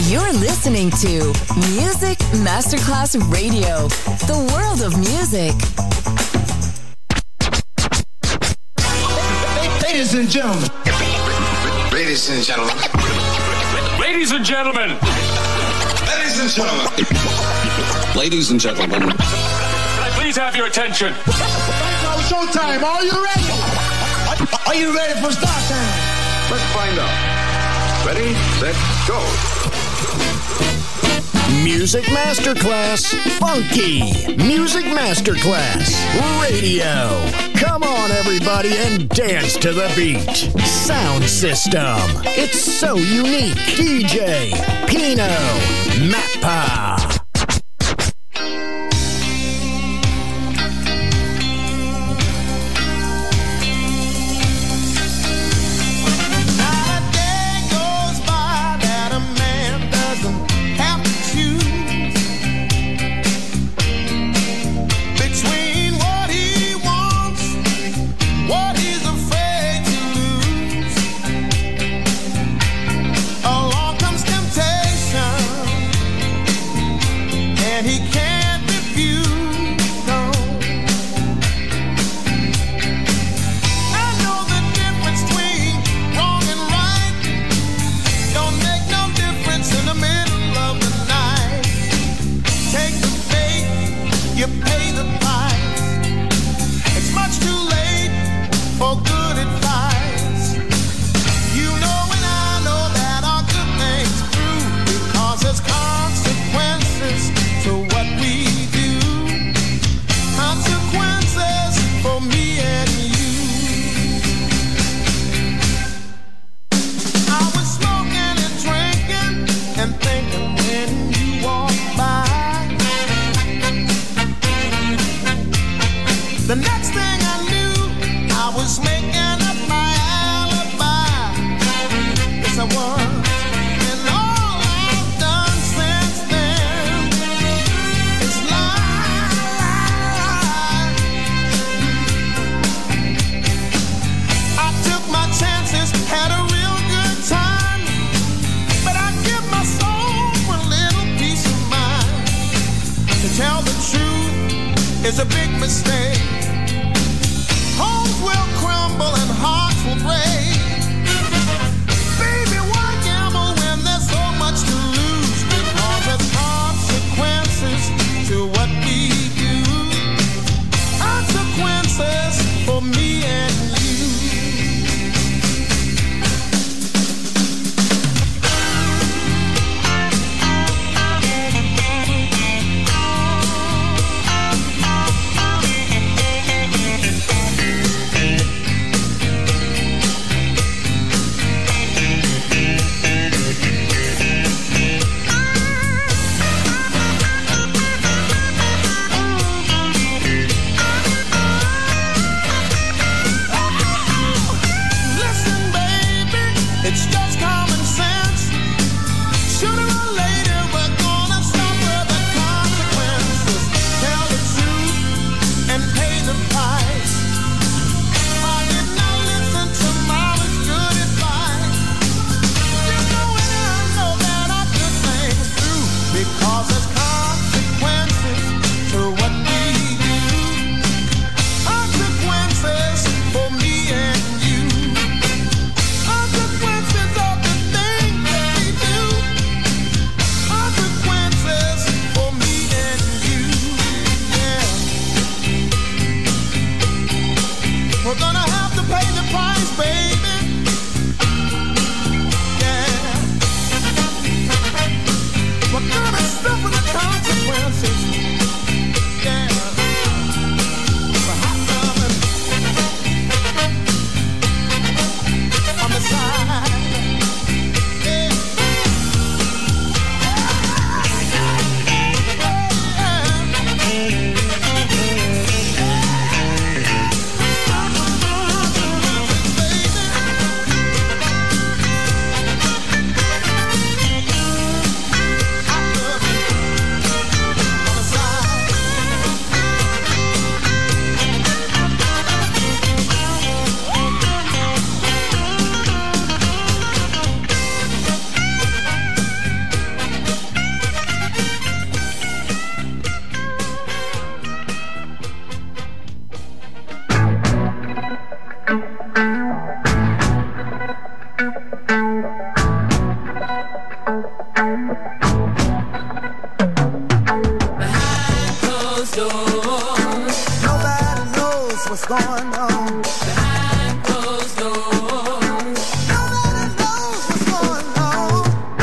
You're listening to Music Masterclass Radio, the world of music. Ladies and gentlemen. Ladies and gentlemen. Ladies and gentlemen. Ladies and gentlemen. Ladies and gentlemen. Can I please have your attention? Now showtime. Are you ready? Are you ready for start time? Let's find out. Ready, set, go. Music Masterclass Funky. Music Masterclass Radio. Come on, everybody, and dance to the beat. Sound system. It's so unique. DJ Pino Mappa. It's a big mistake. Homes will crumble and hearts will break. Baby, why gamble when there's so much to lose? Because there's consequences to what we do. Consequences for me and you. going on behind closed doors. Nobody knows what's going on.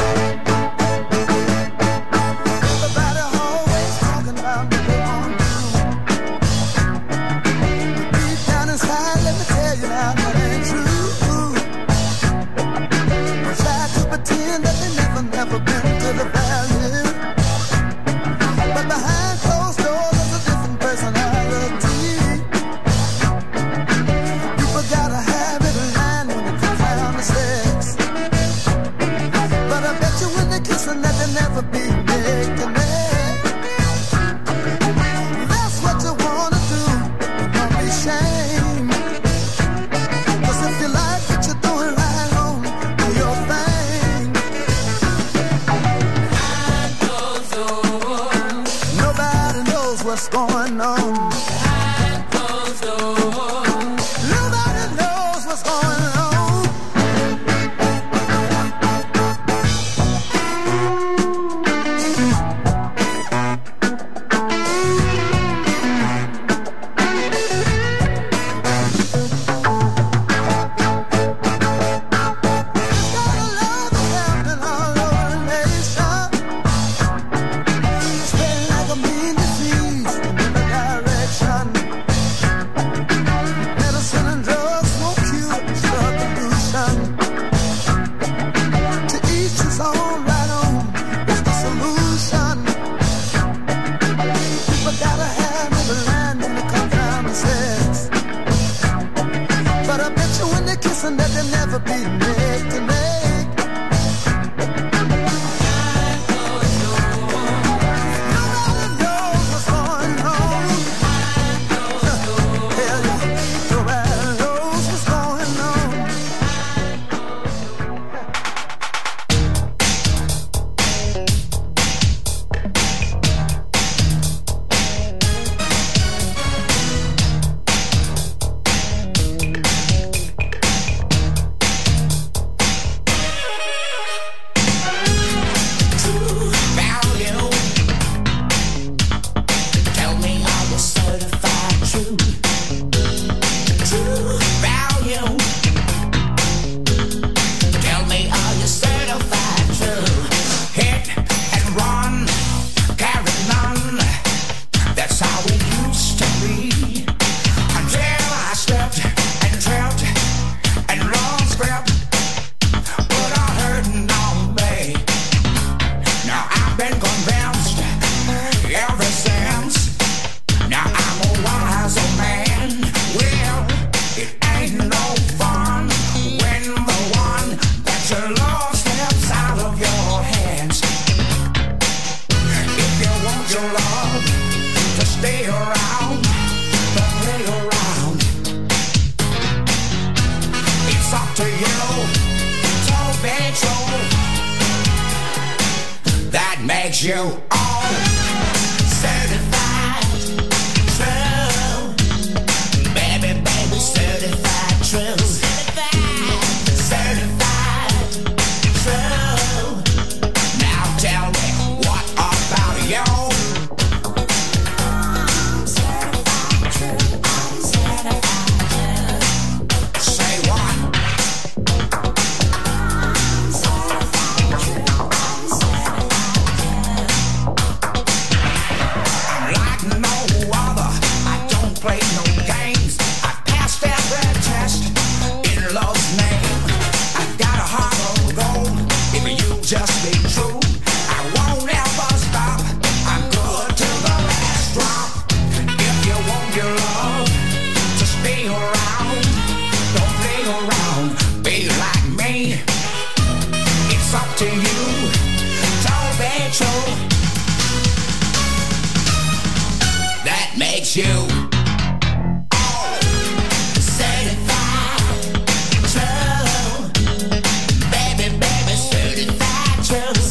Everybody always talking about what they want to do. Deep down inside, let me tell you now, that ain't true. We try to pretend that they never been to the valley, but behind closed doors there's a different personality. People gotta have every line when it comes down to sex, but I bet you when they're kissing that they'll never be neck to neck. That's what you wanna do, don't be ashamed. 'Cause if you like what you're doing right on, do your thing. Behind closed doors, nobody knows what's going on. Behind closed doors, nobody knows what's going on. Gotta love is happening all over the nation, spreading like a mean disease in every direction. Medicine and drugs won't cure this drug pollution. To each his own, right on is the solution. People gotta have every line when it comes down to sex, but I bet you when they're kissing that they'll never be neck to neck. Nobody knows what's going on. Hell yeah, nobody knows what's going on. Tell me, are you certified true? True value. Tell me, are you certified true? Hit and run, carry none. That's how it used to be. Until I stepped and tripped and lost grip. Put a hurting on me. Now I've been convinced ever since. Now I'm a wiser man. Well, it ain't no fun when the one that you love steps out of your hands. If you want your love to stay around, don't play around. It's up to you to be true. That makes you all certified true. Baby, baby, certified true. Certified true. Now tell me, what about you? Certified true. Certified true. Say what? Certified true. Like no other, I don't play no games. I passed every test in love's name. I got a heart of gold if you just be true. I won't ever stop. I'm good till the last drop. If you want your love to stay around, don't play around. Be like me. It's up to you. Don't be true. That makes you all certified true. Baby, baby, certified true.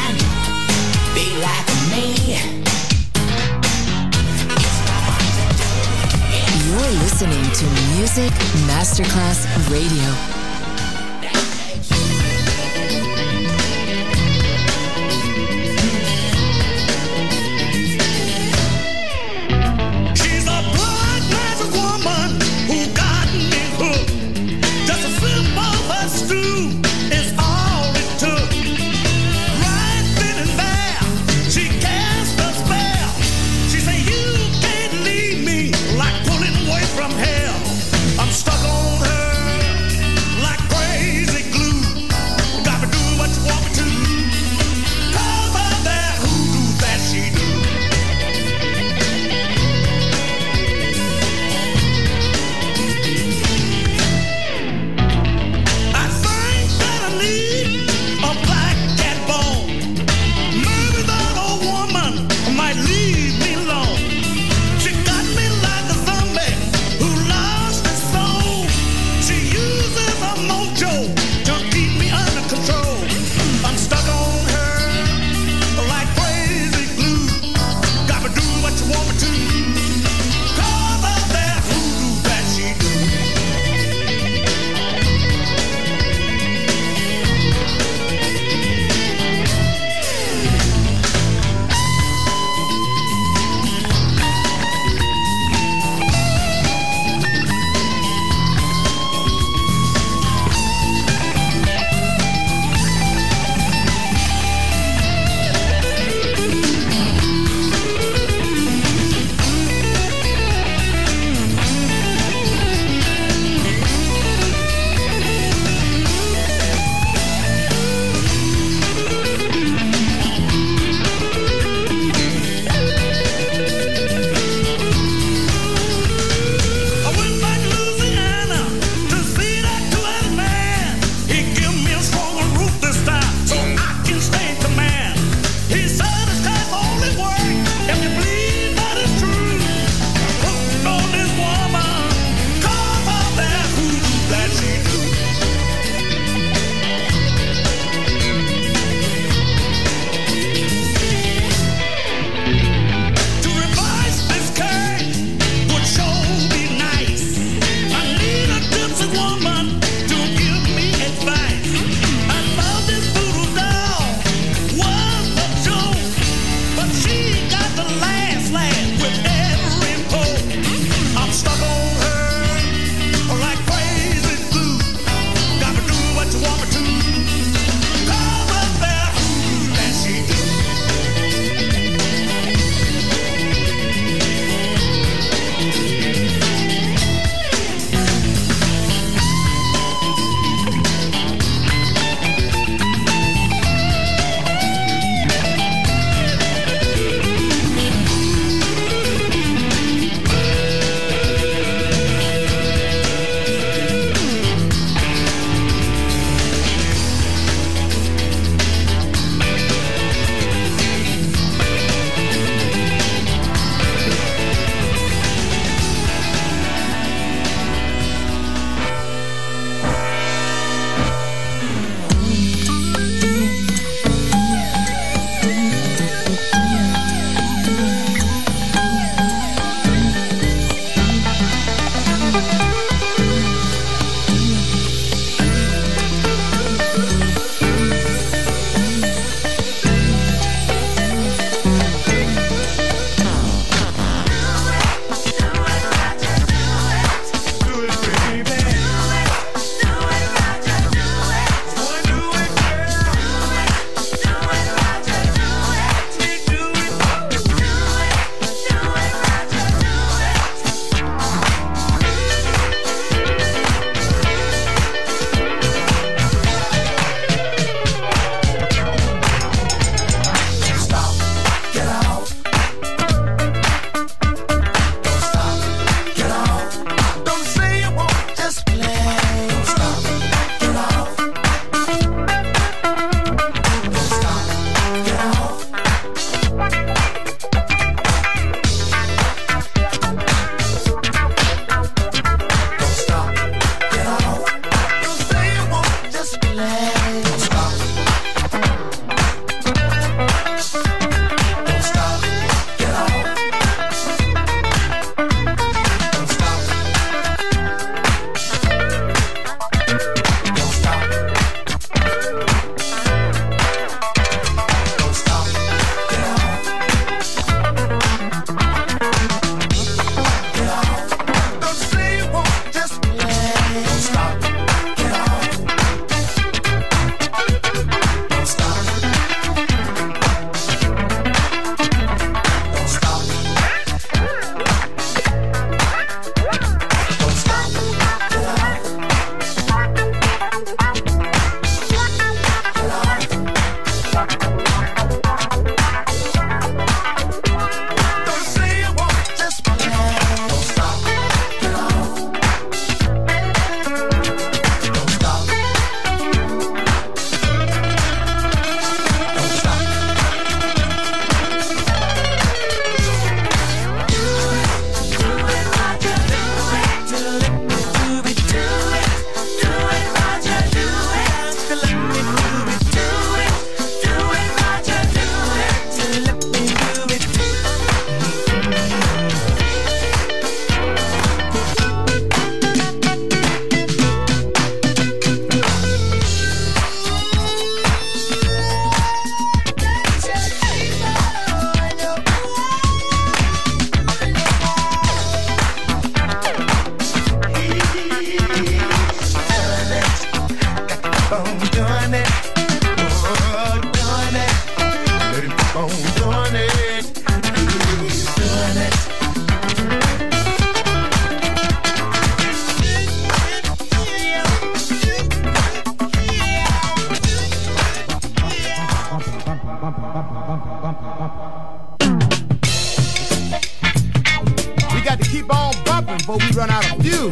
listening to Music Masterclass Radio. on doing it. Doing it. We got to keep on bumping before we run out of fuel.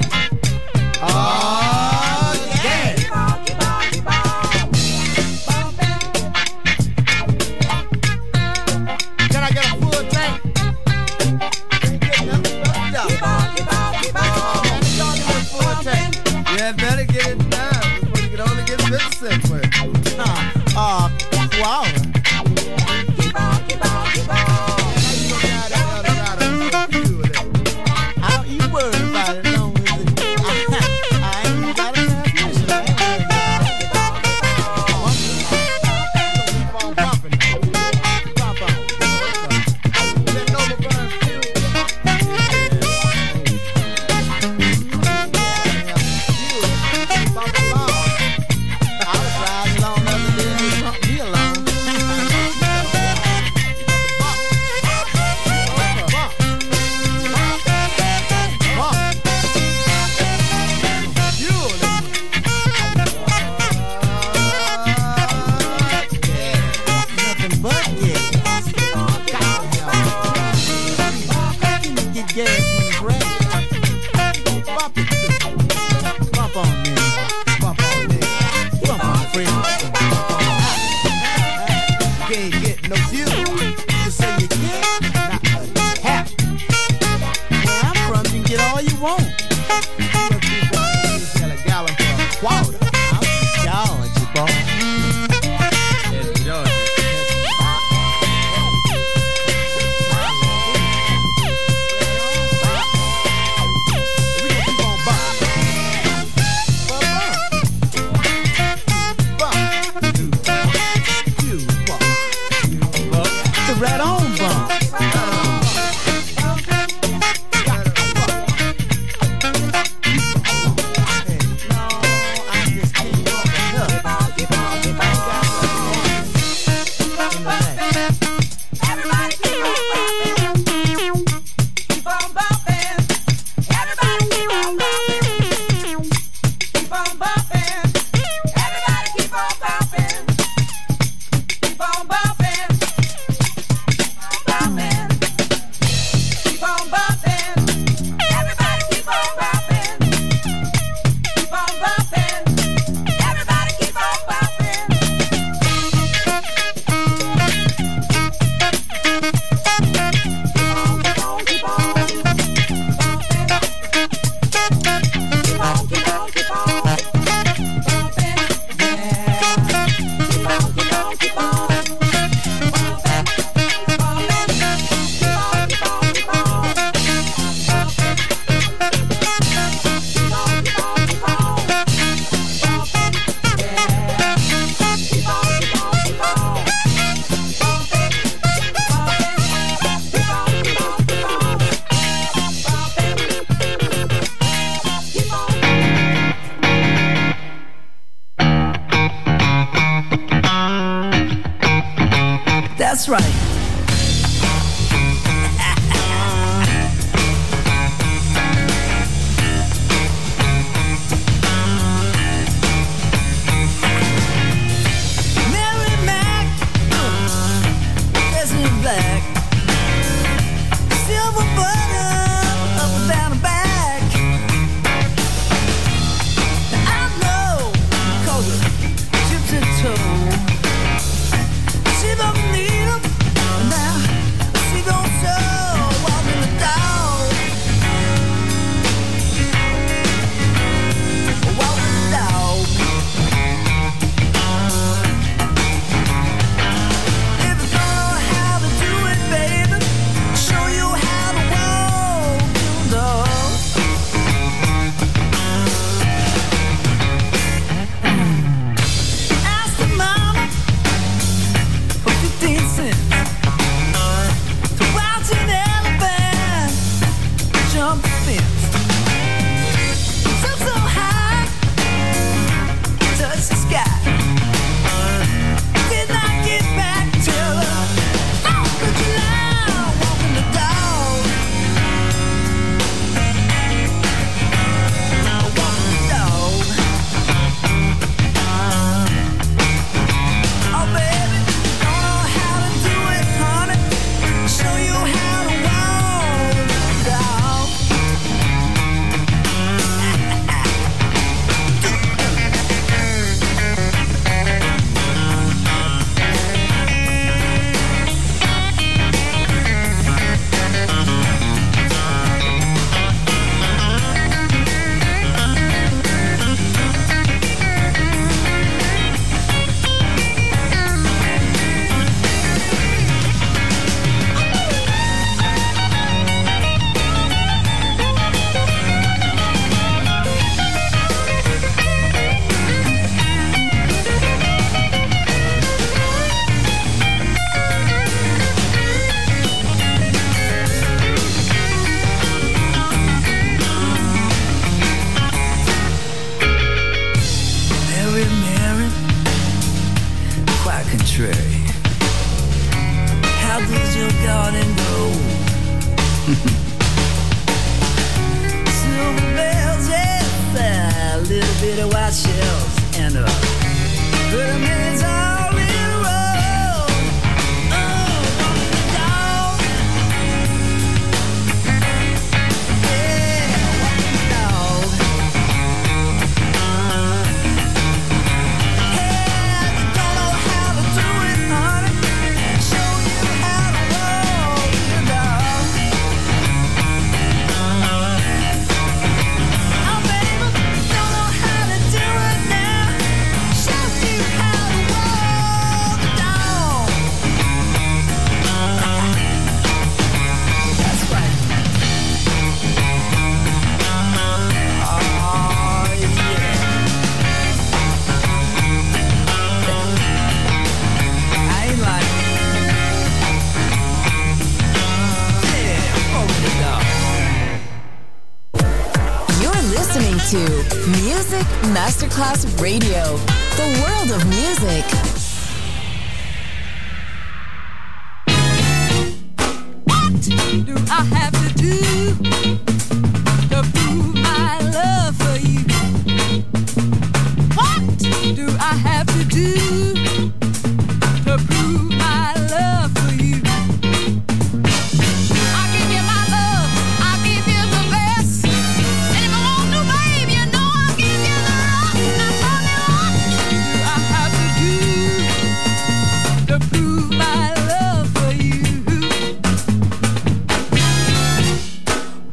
Oh, yeah. Can I get a full tank? Keep on. Y'all get a full tank. Yeah, better get it done before you can only get 50 cents worth. Wow. That's right. Mary Mac, dressed in black, silver button up and down the back. I know, cause her gypsy toe. She don't need 'em. garden grow. Silver bells, yeah, a little bit of white shells, and pyramids all in a row. Oh, walking the dog. Yeah, walking the dog. Hey, you don't know how to do it, honey. Show you how to walk the dog. Oh, baby, don't know how to do it now. Show you how to walk the dog. That's right. Oh, yeah. I ain't like yeah, walk the dog. You're listening to Music Masterclass Radio, the world of music. What do I have to do to prove my love for you? What do I have to do to prove my love for you? I'll give you my love, I'll give you the best. And if I want to, babe, you know I'll give you the rock. Now tell me what do I have to do to prove my love for you?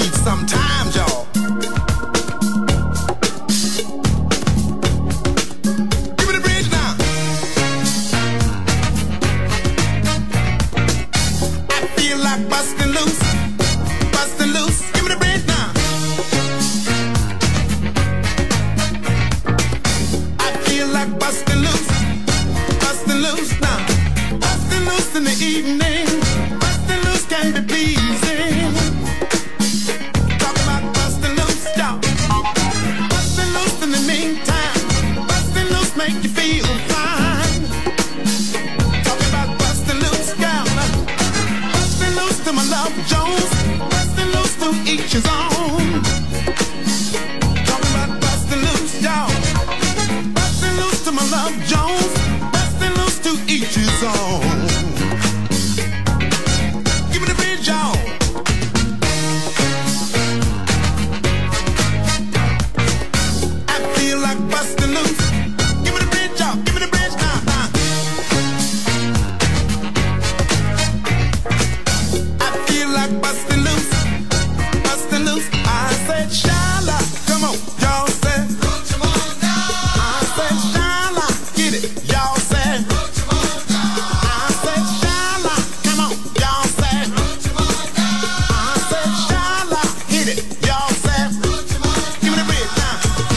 need some time, y'all. Give me the bridge now. I feel like busting loose, busting loose. Give me the bridge now. I feel like busting loose, busting loose now. Busting loose in the evening, busting loose can be pleasing. Talk about busting loose, y'all. Busting loose in the meantime, busting loose make you feel fine. Talk about busting loose, y'all. Busting loose to my love Jones, busting loose to each his own. Talk about busting loose, y'all. Busting loose to my love Jones, busting loose to each his own. Give me the bridge, y'all. I feel like busting loose. Give me the bridge, y'all. Give me the bridge now. I feel like busting loose, busting loose. I said, Shala, come on, y'all said. I said, Shala, get it, y'all said. I said, Shala, come on, y'all said. I said, Shala, hit it, y'all said. Give me the bridge now.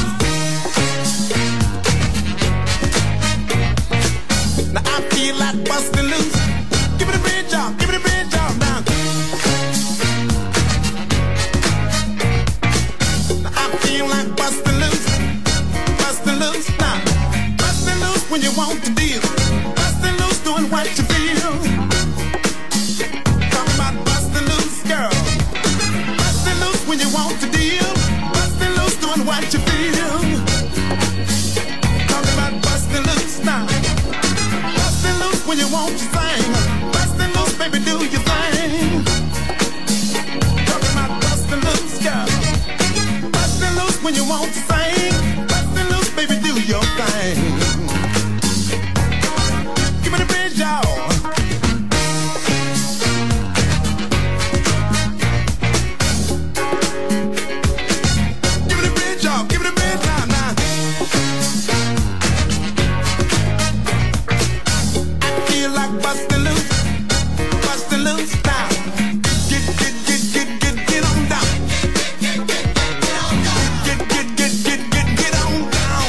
Now I feel like busting loose. Give me the bridge, y'all. Give me the bridge, y'all. Now. Now I feel like busting loose, busting loose now. Busting loose when you want to deal. Busting loose doing what you feel. Talk about busting loose, girl. Busting loose when you want to deal. Busting loose doing what you feel. Talk about busting loose now. Busting loose when you want to sing. Busting loose, baby, do your thing. Talk about busting loose, girl. Busting loose when you want to sing. Busting loose, baby, do your thing. Give me the bridge, y'all. Give me the bridge, y'all. Give me the bridge now, now. I feel like busting loose now. Get on down. Get on down.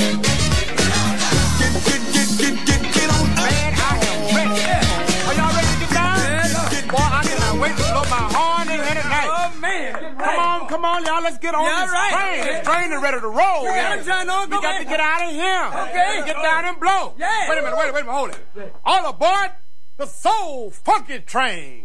Get on up. Man, I am ready. Are y'all ready to get down? Boy, I cannot wait to blow my horn in here tonight. Oh, man. Come on, y'all. Let's get on Yeah, this right. train. This train is ready to roll. Yeah, I'm trying to go We got back. to get out of here. Okay. Get down and blow. Yeah. Wait a minute, hold it. All aboard the Soul Funky Train.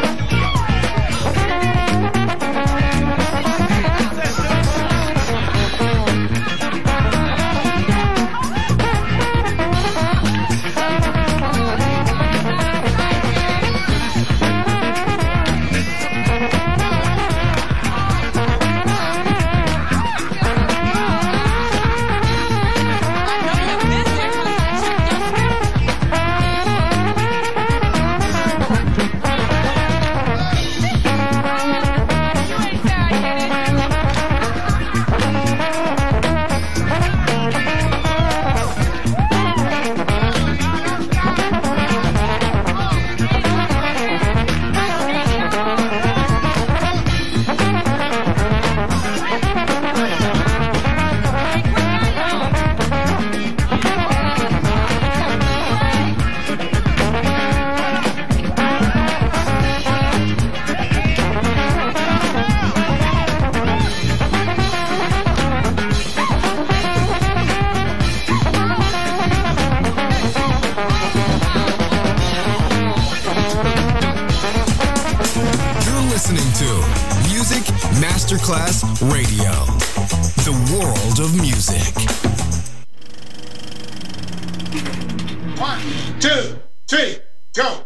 Masterclass Radio, the world of music. 1, 2, 3, go!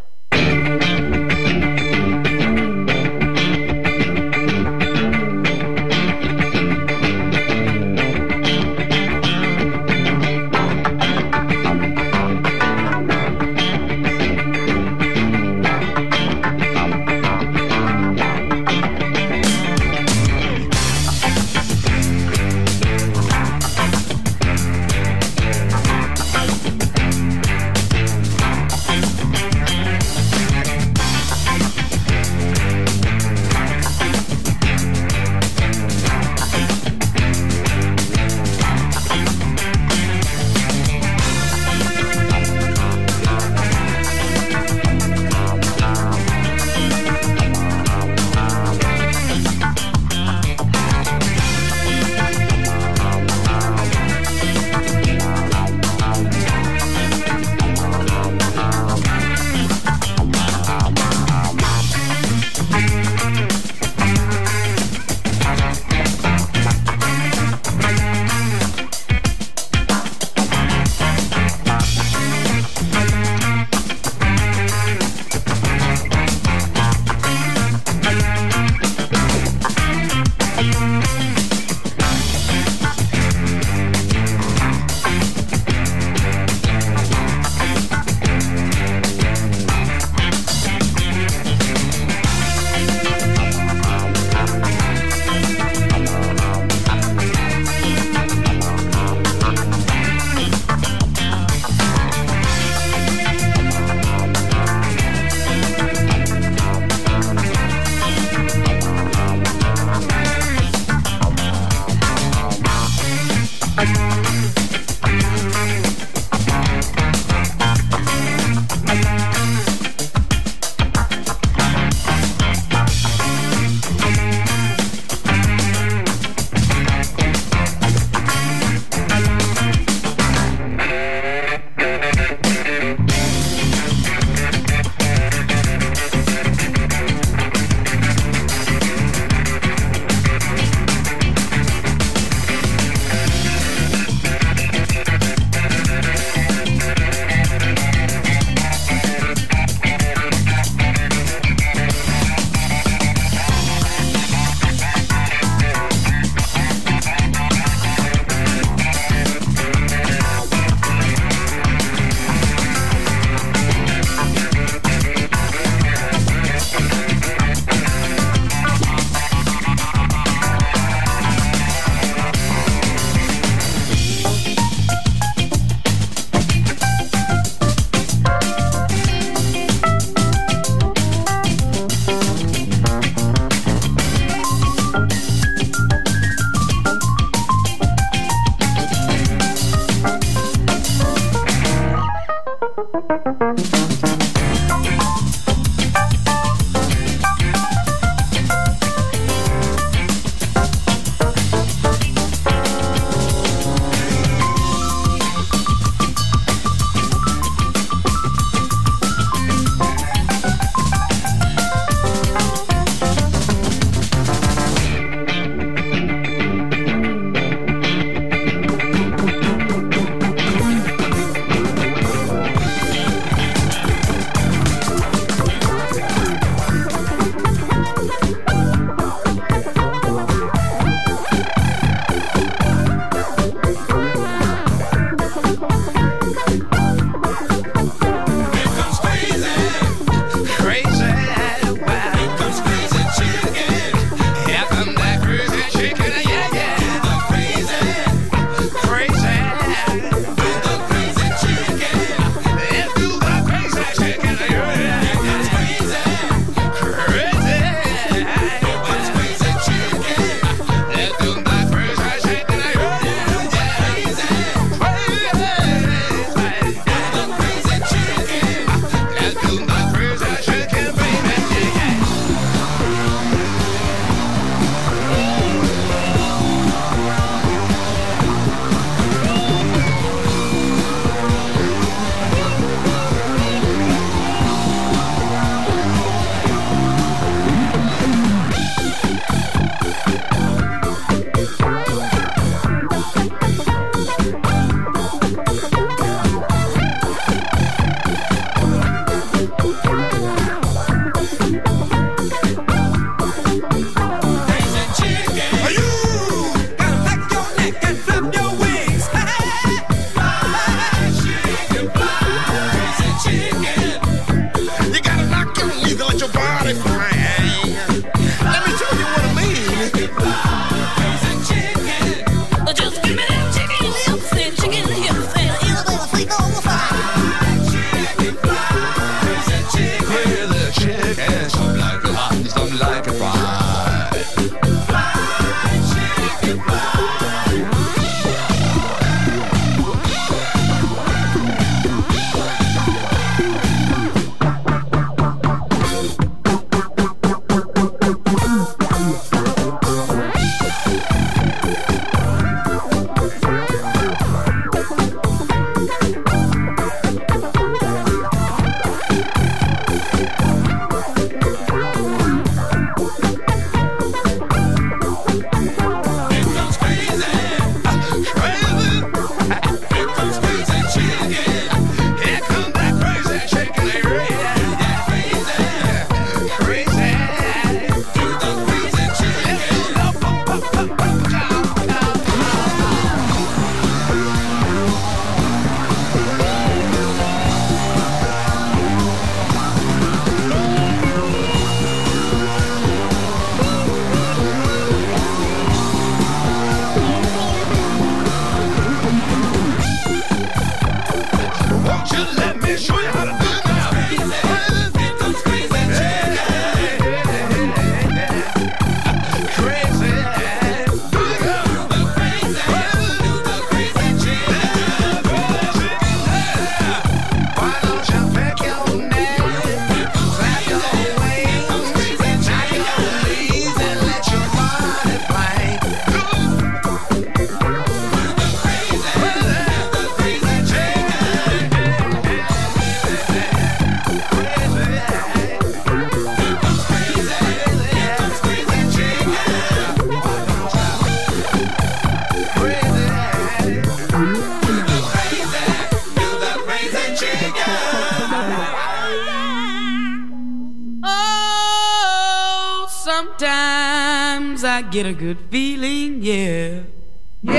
sometimes I get a good feeling, yeah. Yeah.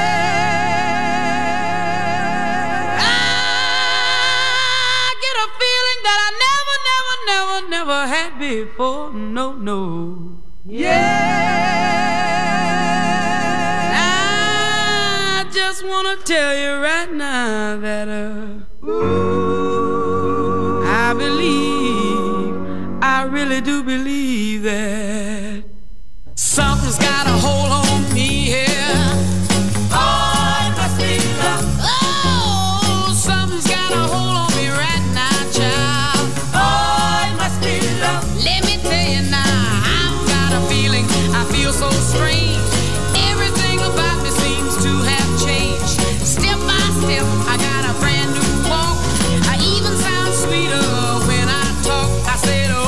I get a feeling that I never had before, no. Yeah. I just wanna tell you right now that I really do believe that something's got a hold on me here. Oh, it must be love. Oh, something's got a hold on me right now, child. Oh, it must be love. Let me tell you now, I've got a feeling, I feel so strange. Everything about me seems to have changed. Step by step, I got a brand new walk. I even sound sweeter when I talk. I said, oh.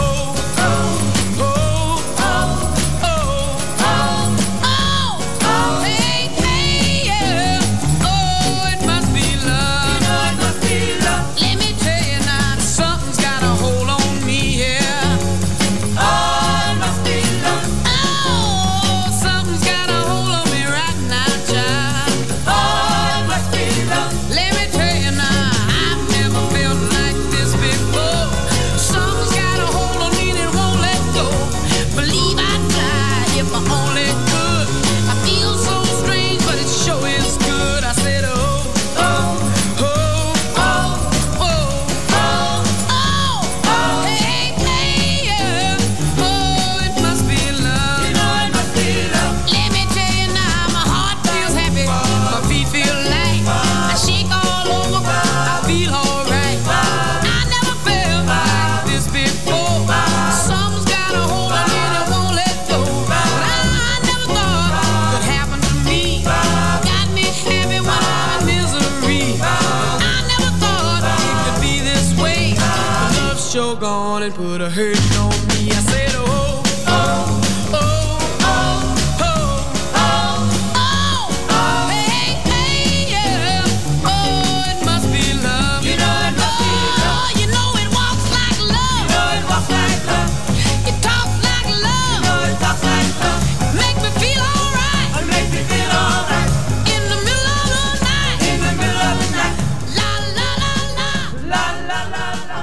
Gone and put a hurting on me. I said, oh, oh, oh, oh, oh, oh, oh, hey, hey, yeah. Oh, it must be love. You know it must be love. You know it walks like love. You know it walks like love. It talks like love. You know it talks like love. Make me feel alright. It makes me feel alright. In the middle of the night. In the middle of the night. La la la la. La la la la.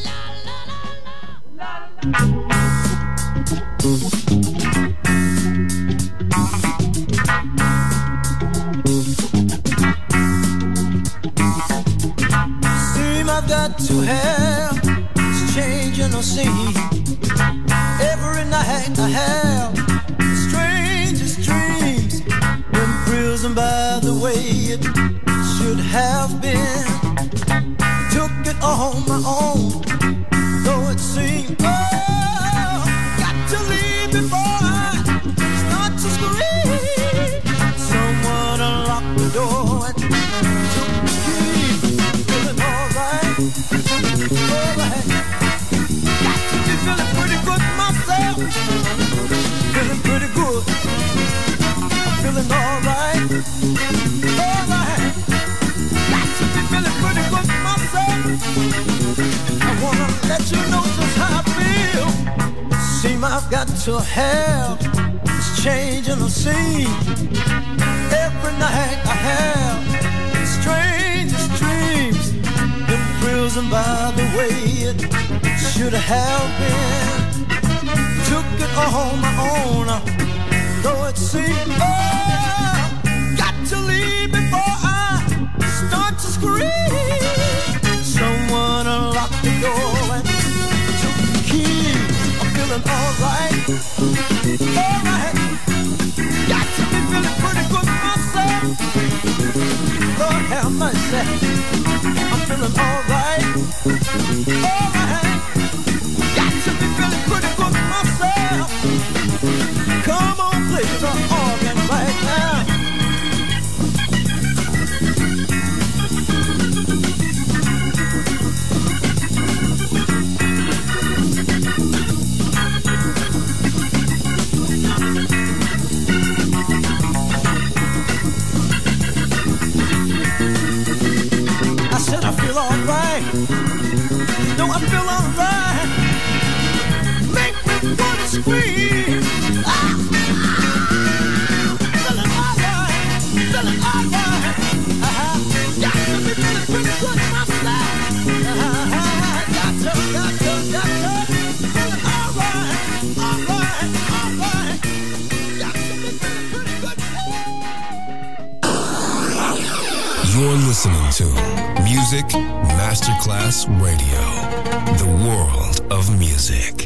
Seem I've got to have this change in the scene. Every night I have the strangest dreams, imprisoned by the way it should have been. Took it on my own, though it seemed, oh, got to leave before I start to scream. Someone unlocked the door and took the key. Feeling alright, alright. Got to be feeling pretty good myself. Feeling pretty good. I'm feeling alright, alright. Got to be feeling pretty good myself. I wanna let you know just how I feel. Seem I've got to have this change in the scene. Every night I have the strangest dreams, imprisoned by the way it should have been. Took it on my own, though it seemed, oh, got to leave before I start to scream. Someone unlocked the door and took the key. I'm feeling alright, alright. Got to be feeling pretty good myself. Lord have mercy. I'm feeling alright, alright. Got to be feeling pretty good myself. Come on, play the organ right now. No, I feel alright. Make me wanna scream. listening to Music Masterclass Radio, the world of music.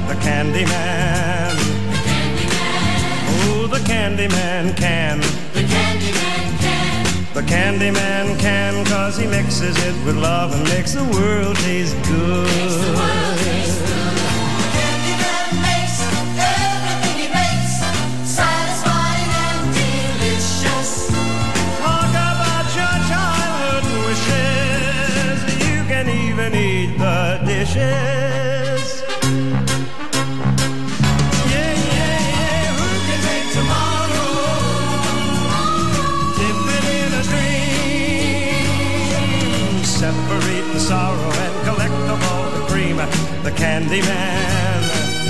Candyman can. The The Candyman can, 'cause he mixes it with love and makes the world taste good. Candyman makes everything he makes satisfying and delicious. Talk about your childhood wishes. You can even eat the dishes. Yeah, yeah, yeah. Who can make tomorrow? Dip it in a stream. Separate the sorrow and collect all the cream. The Candyman.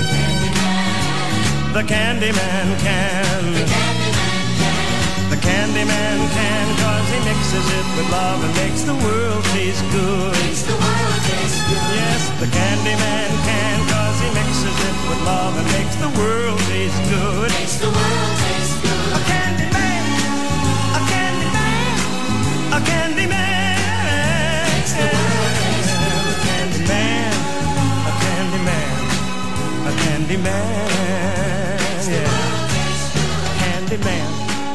The Candyman can. The Candyman can, 'cause he mixes it with love and makes the world taste good. Yes, the Candyman can, 'cause he mixes it with love and makes the world taste good. A Candyman, a Candyman, a Candyman. Makes the world taste good. A Candyman, a Candyman, a Candyman. Yeah, Candyman.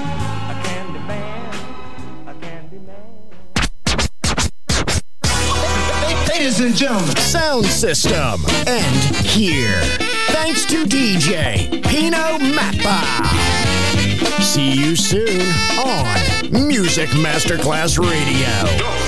Ladies and gentlemen, Sound System. And here, thanks to DJ Pino Mappa. See you soon on Music Masterclass Radio.